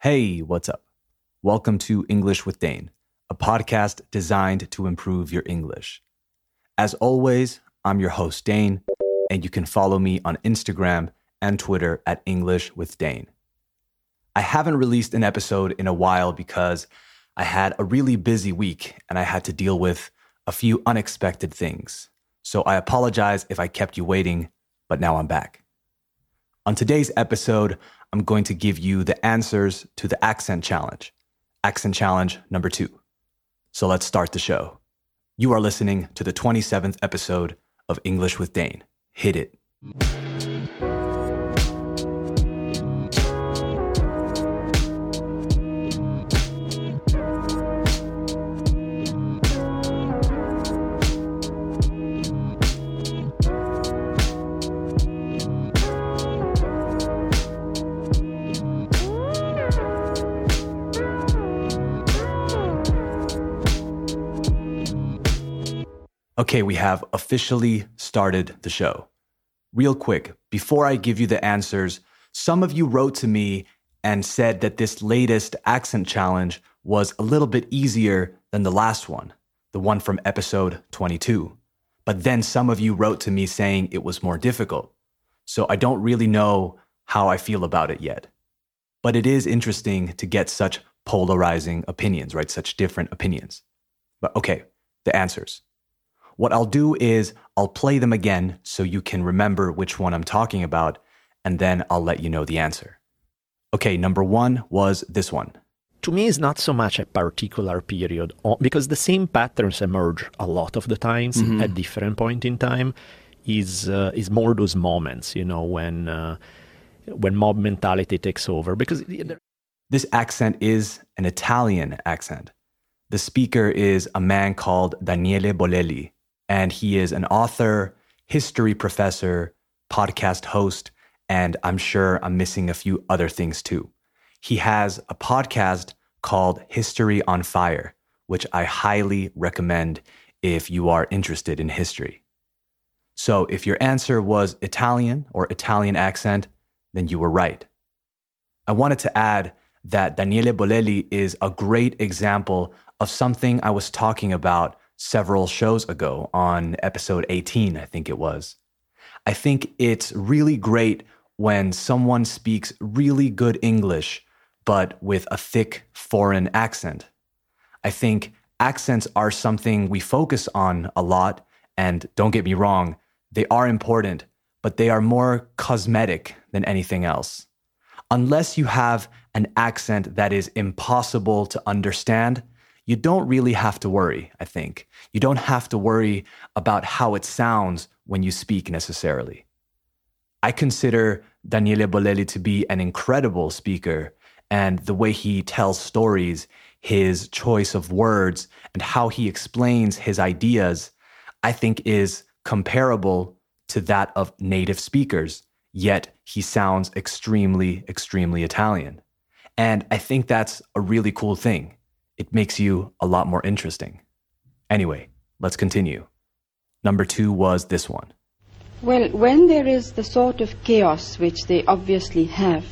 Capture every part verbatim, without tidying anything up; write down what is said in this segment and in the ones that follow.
Hey, what's up? Welcome to English with Dane, a podcast designed to improve your English. As always, I'm your host, Dane, and you can follow me on Instagram and Twitter at English with Dane. I haven't released an episode in a while because I had a really busy week and I had to deal with a few unexpected things. So I apologize if I kept you waiting, but now I'm back. On today's episode, I'm going to give you the answers to the accent challenge. Accent challenge number two. So let's start the show. You are listening to the twenty-seventh episode of English with Dane. Hit it. Okay, we have officially started the show. Real quick, before I give you the answers, some of you wrote to me and said that this latest accent challenge was a little bit easier than the last one, the one from episode twenty-two. But then some of you wrote to me saying it was more difficult. So I don't really know how I feel about it yet. But it is interesting to get such polarizing opinions, right? Such different opinions. But okay, the answers. What I'll do is I'll play them again so you can remember which one I'm talking about, and then I'll let you know the answer. Okay, number one was this one. To me, it's not so much a particular period, because the same patterns emerge a lot of the times mm-hmm. at different point in time. Is uh, is more those moments, you know, when uh, when mob mentality takes over. Because this accent is an Italian accent. The speaker is a man called Daniele Bolelli. And he is an author, history professor, podcast host, and I'm sure I'm missing a few other things too. He has a podcast called History on Fire, which I highly recommend if you are interested in history. So if your answer was Italian or Italian accent, then you were right. I wanted to add that Daniele Bolelli is a great example of something I was talking about several shows ago on episode eighteen, I think it was. I think it's really great when someone speaks really good English, but with a thick foreign accent. I think accents are something we focus on a lot, and don't get me wrong, they are important, but they are more cosmetic than anything else. Unless you have an accent that is impossible to understand, you don't really have to worry, I think. You don't have to worry about how it sounds when you speak necessarily. I consider Daniele Bolelli to be an incredible speaker, and the way he tells stories, his choice of words, and how he explains his ideas, I think is comparable to that of native speakers, yet he sounds extremely, extremely Italian. And I think that's a really cool thing. It makes you a lot more interesting. Anyway, let's continue. Number two was this one. Well, when there is the sort of chaos which they obviously have,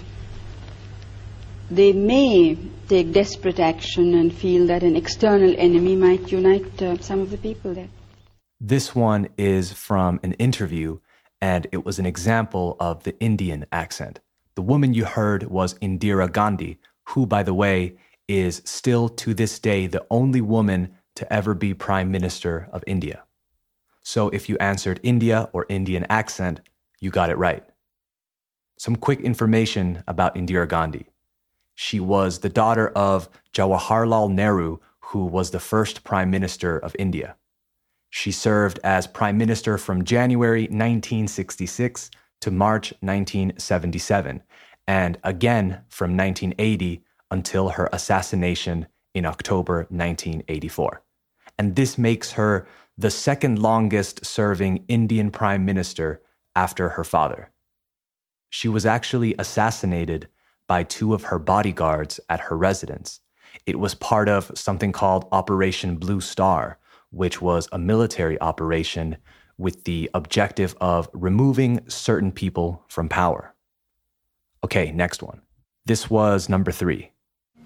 they may take desperate action and feel that an external enemy might unite uh, some of the people there. This one is from an interview, and it was an example of the Indian accent. The woman you heard was Indira Gandhi, who, by the way, is still to this day the only woman to ever be Prime Minister of India. So if you answered India or Indian accent, you got it right. Some quick information about Indira Gandhi. She was the daughter of Jawaharlal Nehru, who was the first Prime Minister of India. She served as Prime Minister from January nineteen sixty-six to March nineteen seventy-seven, and again from nineteen eighty until her assassination in October nineteen eighty-four. And this makes her the second longest serving Indian Prime Minister after her father. She was actually assassinated by two of her bodyguards at her residence. It was part of something called Operation Blue Star, which was a military operation with the objective of removing certain people from power. Okay, next one. This was number three.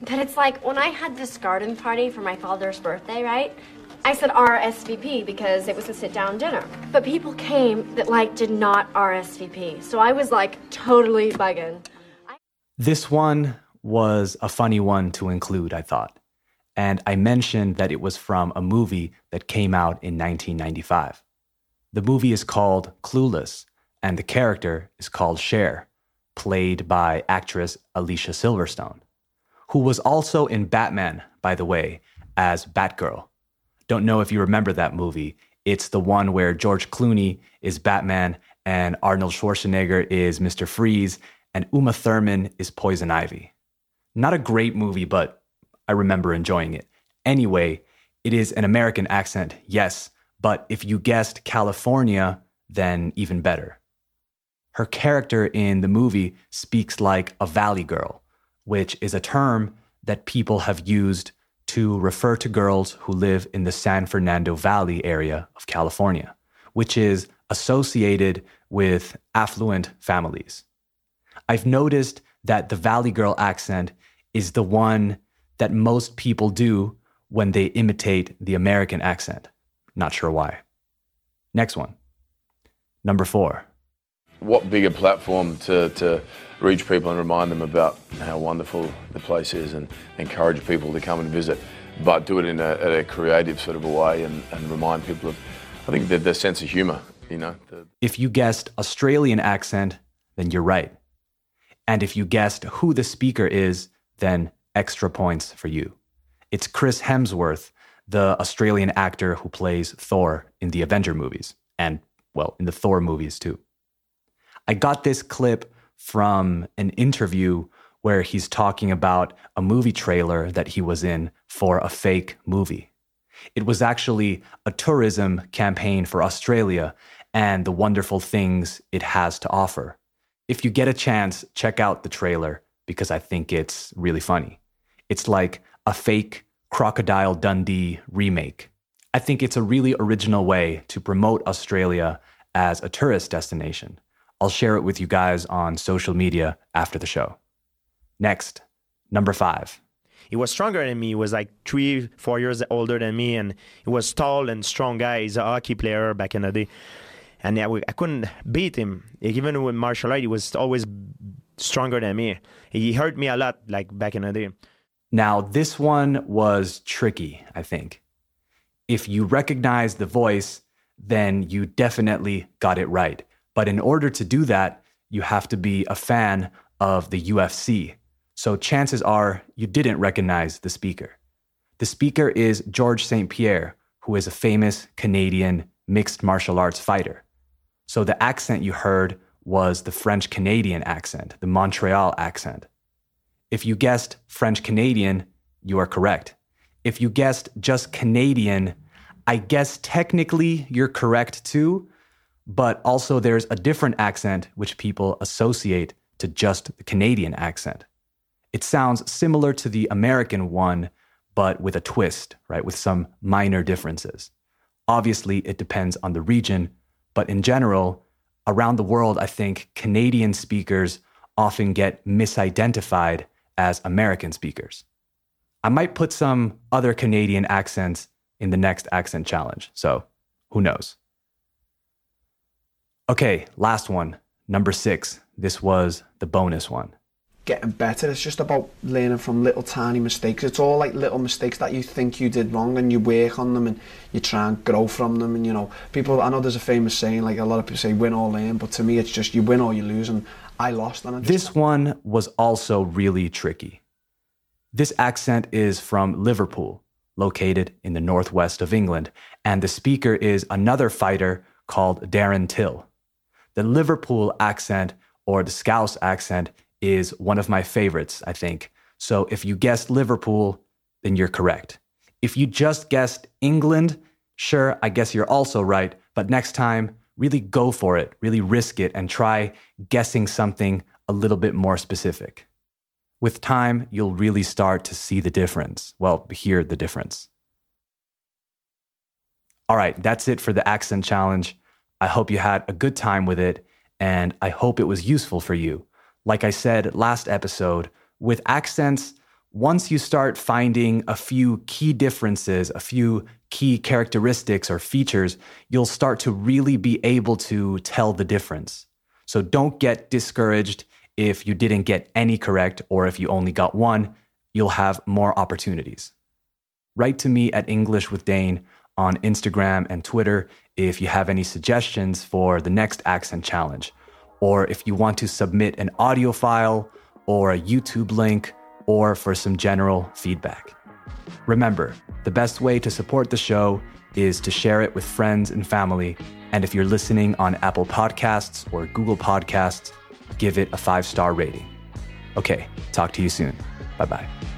That it's like when I had this garden party for my father's birthday, right? I said R S V P because it was a sit-down dinner. But people came that like did not R S V P. So I was like totally bugging. I- This one was a funny one to include, I thought. And I mentioned that it was from a movie that came out in nineteen ninety-five. The movie is called Clueless, and the character is called Cher, played by actress Alicia Silverstone, who was also in Batman, by the way, as Batgirl. Don't know if you remember that movie. It's the one where George Clooney is Batman and Arnold Schwarzenegger is Mister Freeze and Uma Thurman is Poison Ivy. Not a great movie, but I remember enjoying it. Anyway, it is an American accent, yes, but if you guessed California, then even better. Her character in the movie speaks like a valley girl, which is a term that people have used to refer to girls who live in the San Fernando Valley area of California, which is associated with affluent families. I've noticed that the Valley Girl accent is the one that most people do when they imitate the American accent. Not sure why. Next one. Number four. What bigger platform to, to reach people and remind them about how wonderful the place is and encourage people to come and visit, but do it in a, a creative sort of a way and, and remind people of, I think, the, the sense of humour, you know. The... If you guessed Australian accent, then you're right. And if you guessed who the speaker is, then extra points for you. It's Chris Hemsworth, the Australian actor who plays Thor in the Avenger movies, and, well, in the Thor movies too. I got this clip from an interview where he's talking about a movie trailer that he was in for a fake movie. It was actually a tourism campaign for Australia and the wonderful things it has to offer. If you get a chance, check out the trailer because I think it's really funny. It's like a fake Crocodile Dundee remake. I think it's a really original way to promote Australia as a tourist destination. I'll share it with you guys on social media after the show. Next, number five. He was stronger than me. He was like three, four years older than me, and he was tall and strong guy. He's a hockey player back in the day. And I, I couldn't beat him. Even with martial art, he was always stronger than me. He hurt me a lot, like back in the day. Now, this one was tricky, I think. If you recognize the voice, then you definitely got it right. But in order to do that, you have to be a fan of the U F C. So chances are you didn't recognize the speaker. The speaker is George Saint Pierre, who is a famous Canadian mixed martial arts fighter. So the accent you heard was the French-Canadian accent, the Montreal accent. If you guessed French-Canadian, you are correct. If you guessed just Canadian, I guess technically you're correct too, but also there's a different accent which people associate to just the Canadian accent. It sounds similar to the American one, but with a twist, right? With some minor differences. Obviously, it depends on the region, but in general, around the world, I think Canadian speakers often get misidentified as American speakers. I might put some other Canadian accents in the next accent challenge, so who knows? Okay, last one, number six. This was the bonus one. Getting better. It's just about learning from little tiny mistakes. It's all like little mistakes that you think you did wrong and you work on them and you try and grow from them. And, you know, people, I know there's a famous saying, like a lot of people say, win or learn, but to me, it's just you win or you lose. And I lost. And I just... This one was also really tricky. This accent is from Liverpool, located in the northwest of England. And the speaker is another fighter called Darren Till. The Liverpool accent, or the Scouse accent, is one of my favorites, I think. So if you guessed Liverpool, then you're correct. If you just guessed England, sure, I guess you're also right. But next time, really go for it, really risk it, and try guessing something a little bit more specific. With time, you'll really start to see the difference. Well, hear the difference. All right, that's it for the accent challenge. I hope you had a good time with it, and I hope it was useful for you. Like I said last episode, with accents, Once you start finding a few key differences, a few key characteristics or features, you'll start to really be able to tell the difference. So don't get discouraged if you didn't get any correct or if you only got one. You'll have more opportunities. Write to me at English with Dane on Instagram and Twitter if you have any suggestions for the next accent challenge, or if you want to submit an audio file or a YouTube link, or for some general feedback. Remember, the best way to support the show is to share it with friends and family. And if you're listening on Apple Podcasts or Google Podcasts, give it a five-star rating. Okay, talk to you soon. Bye-bye.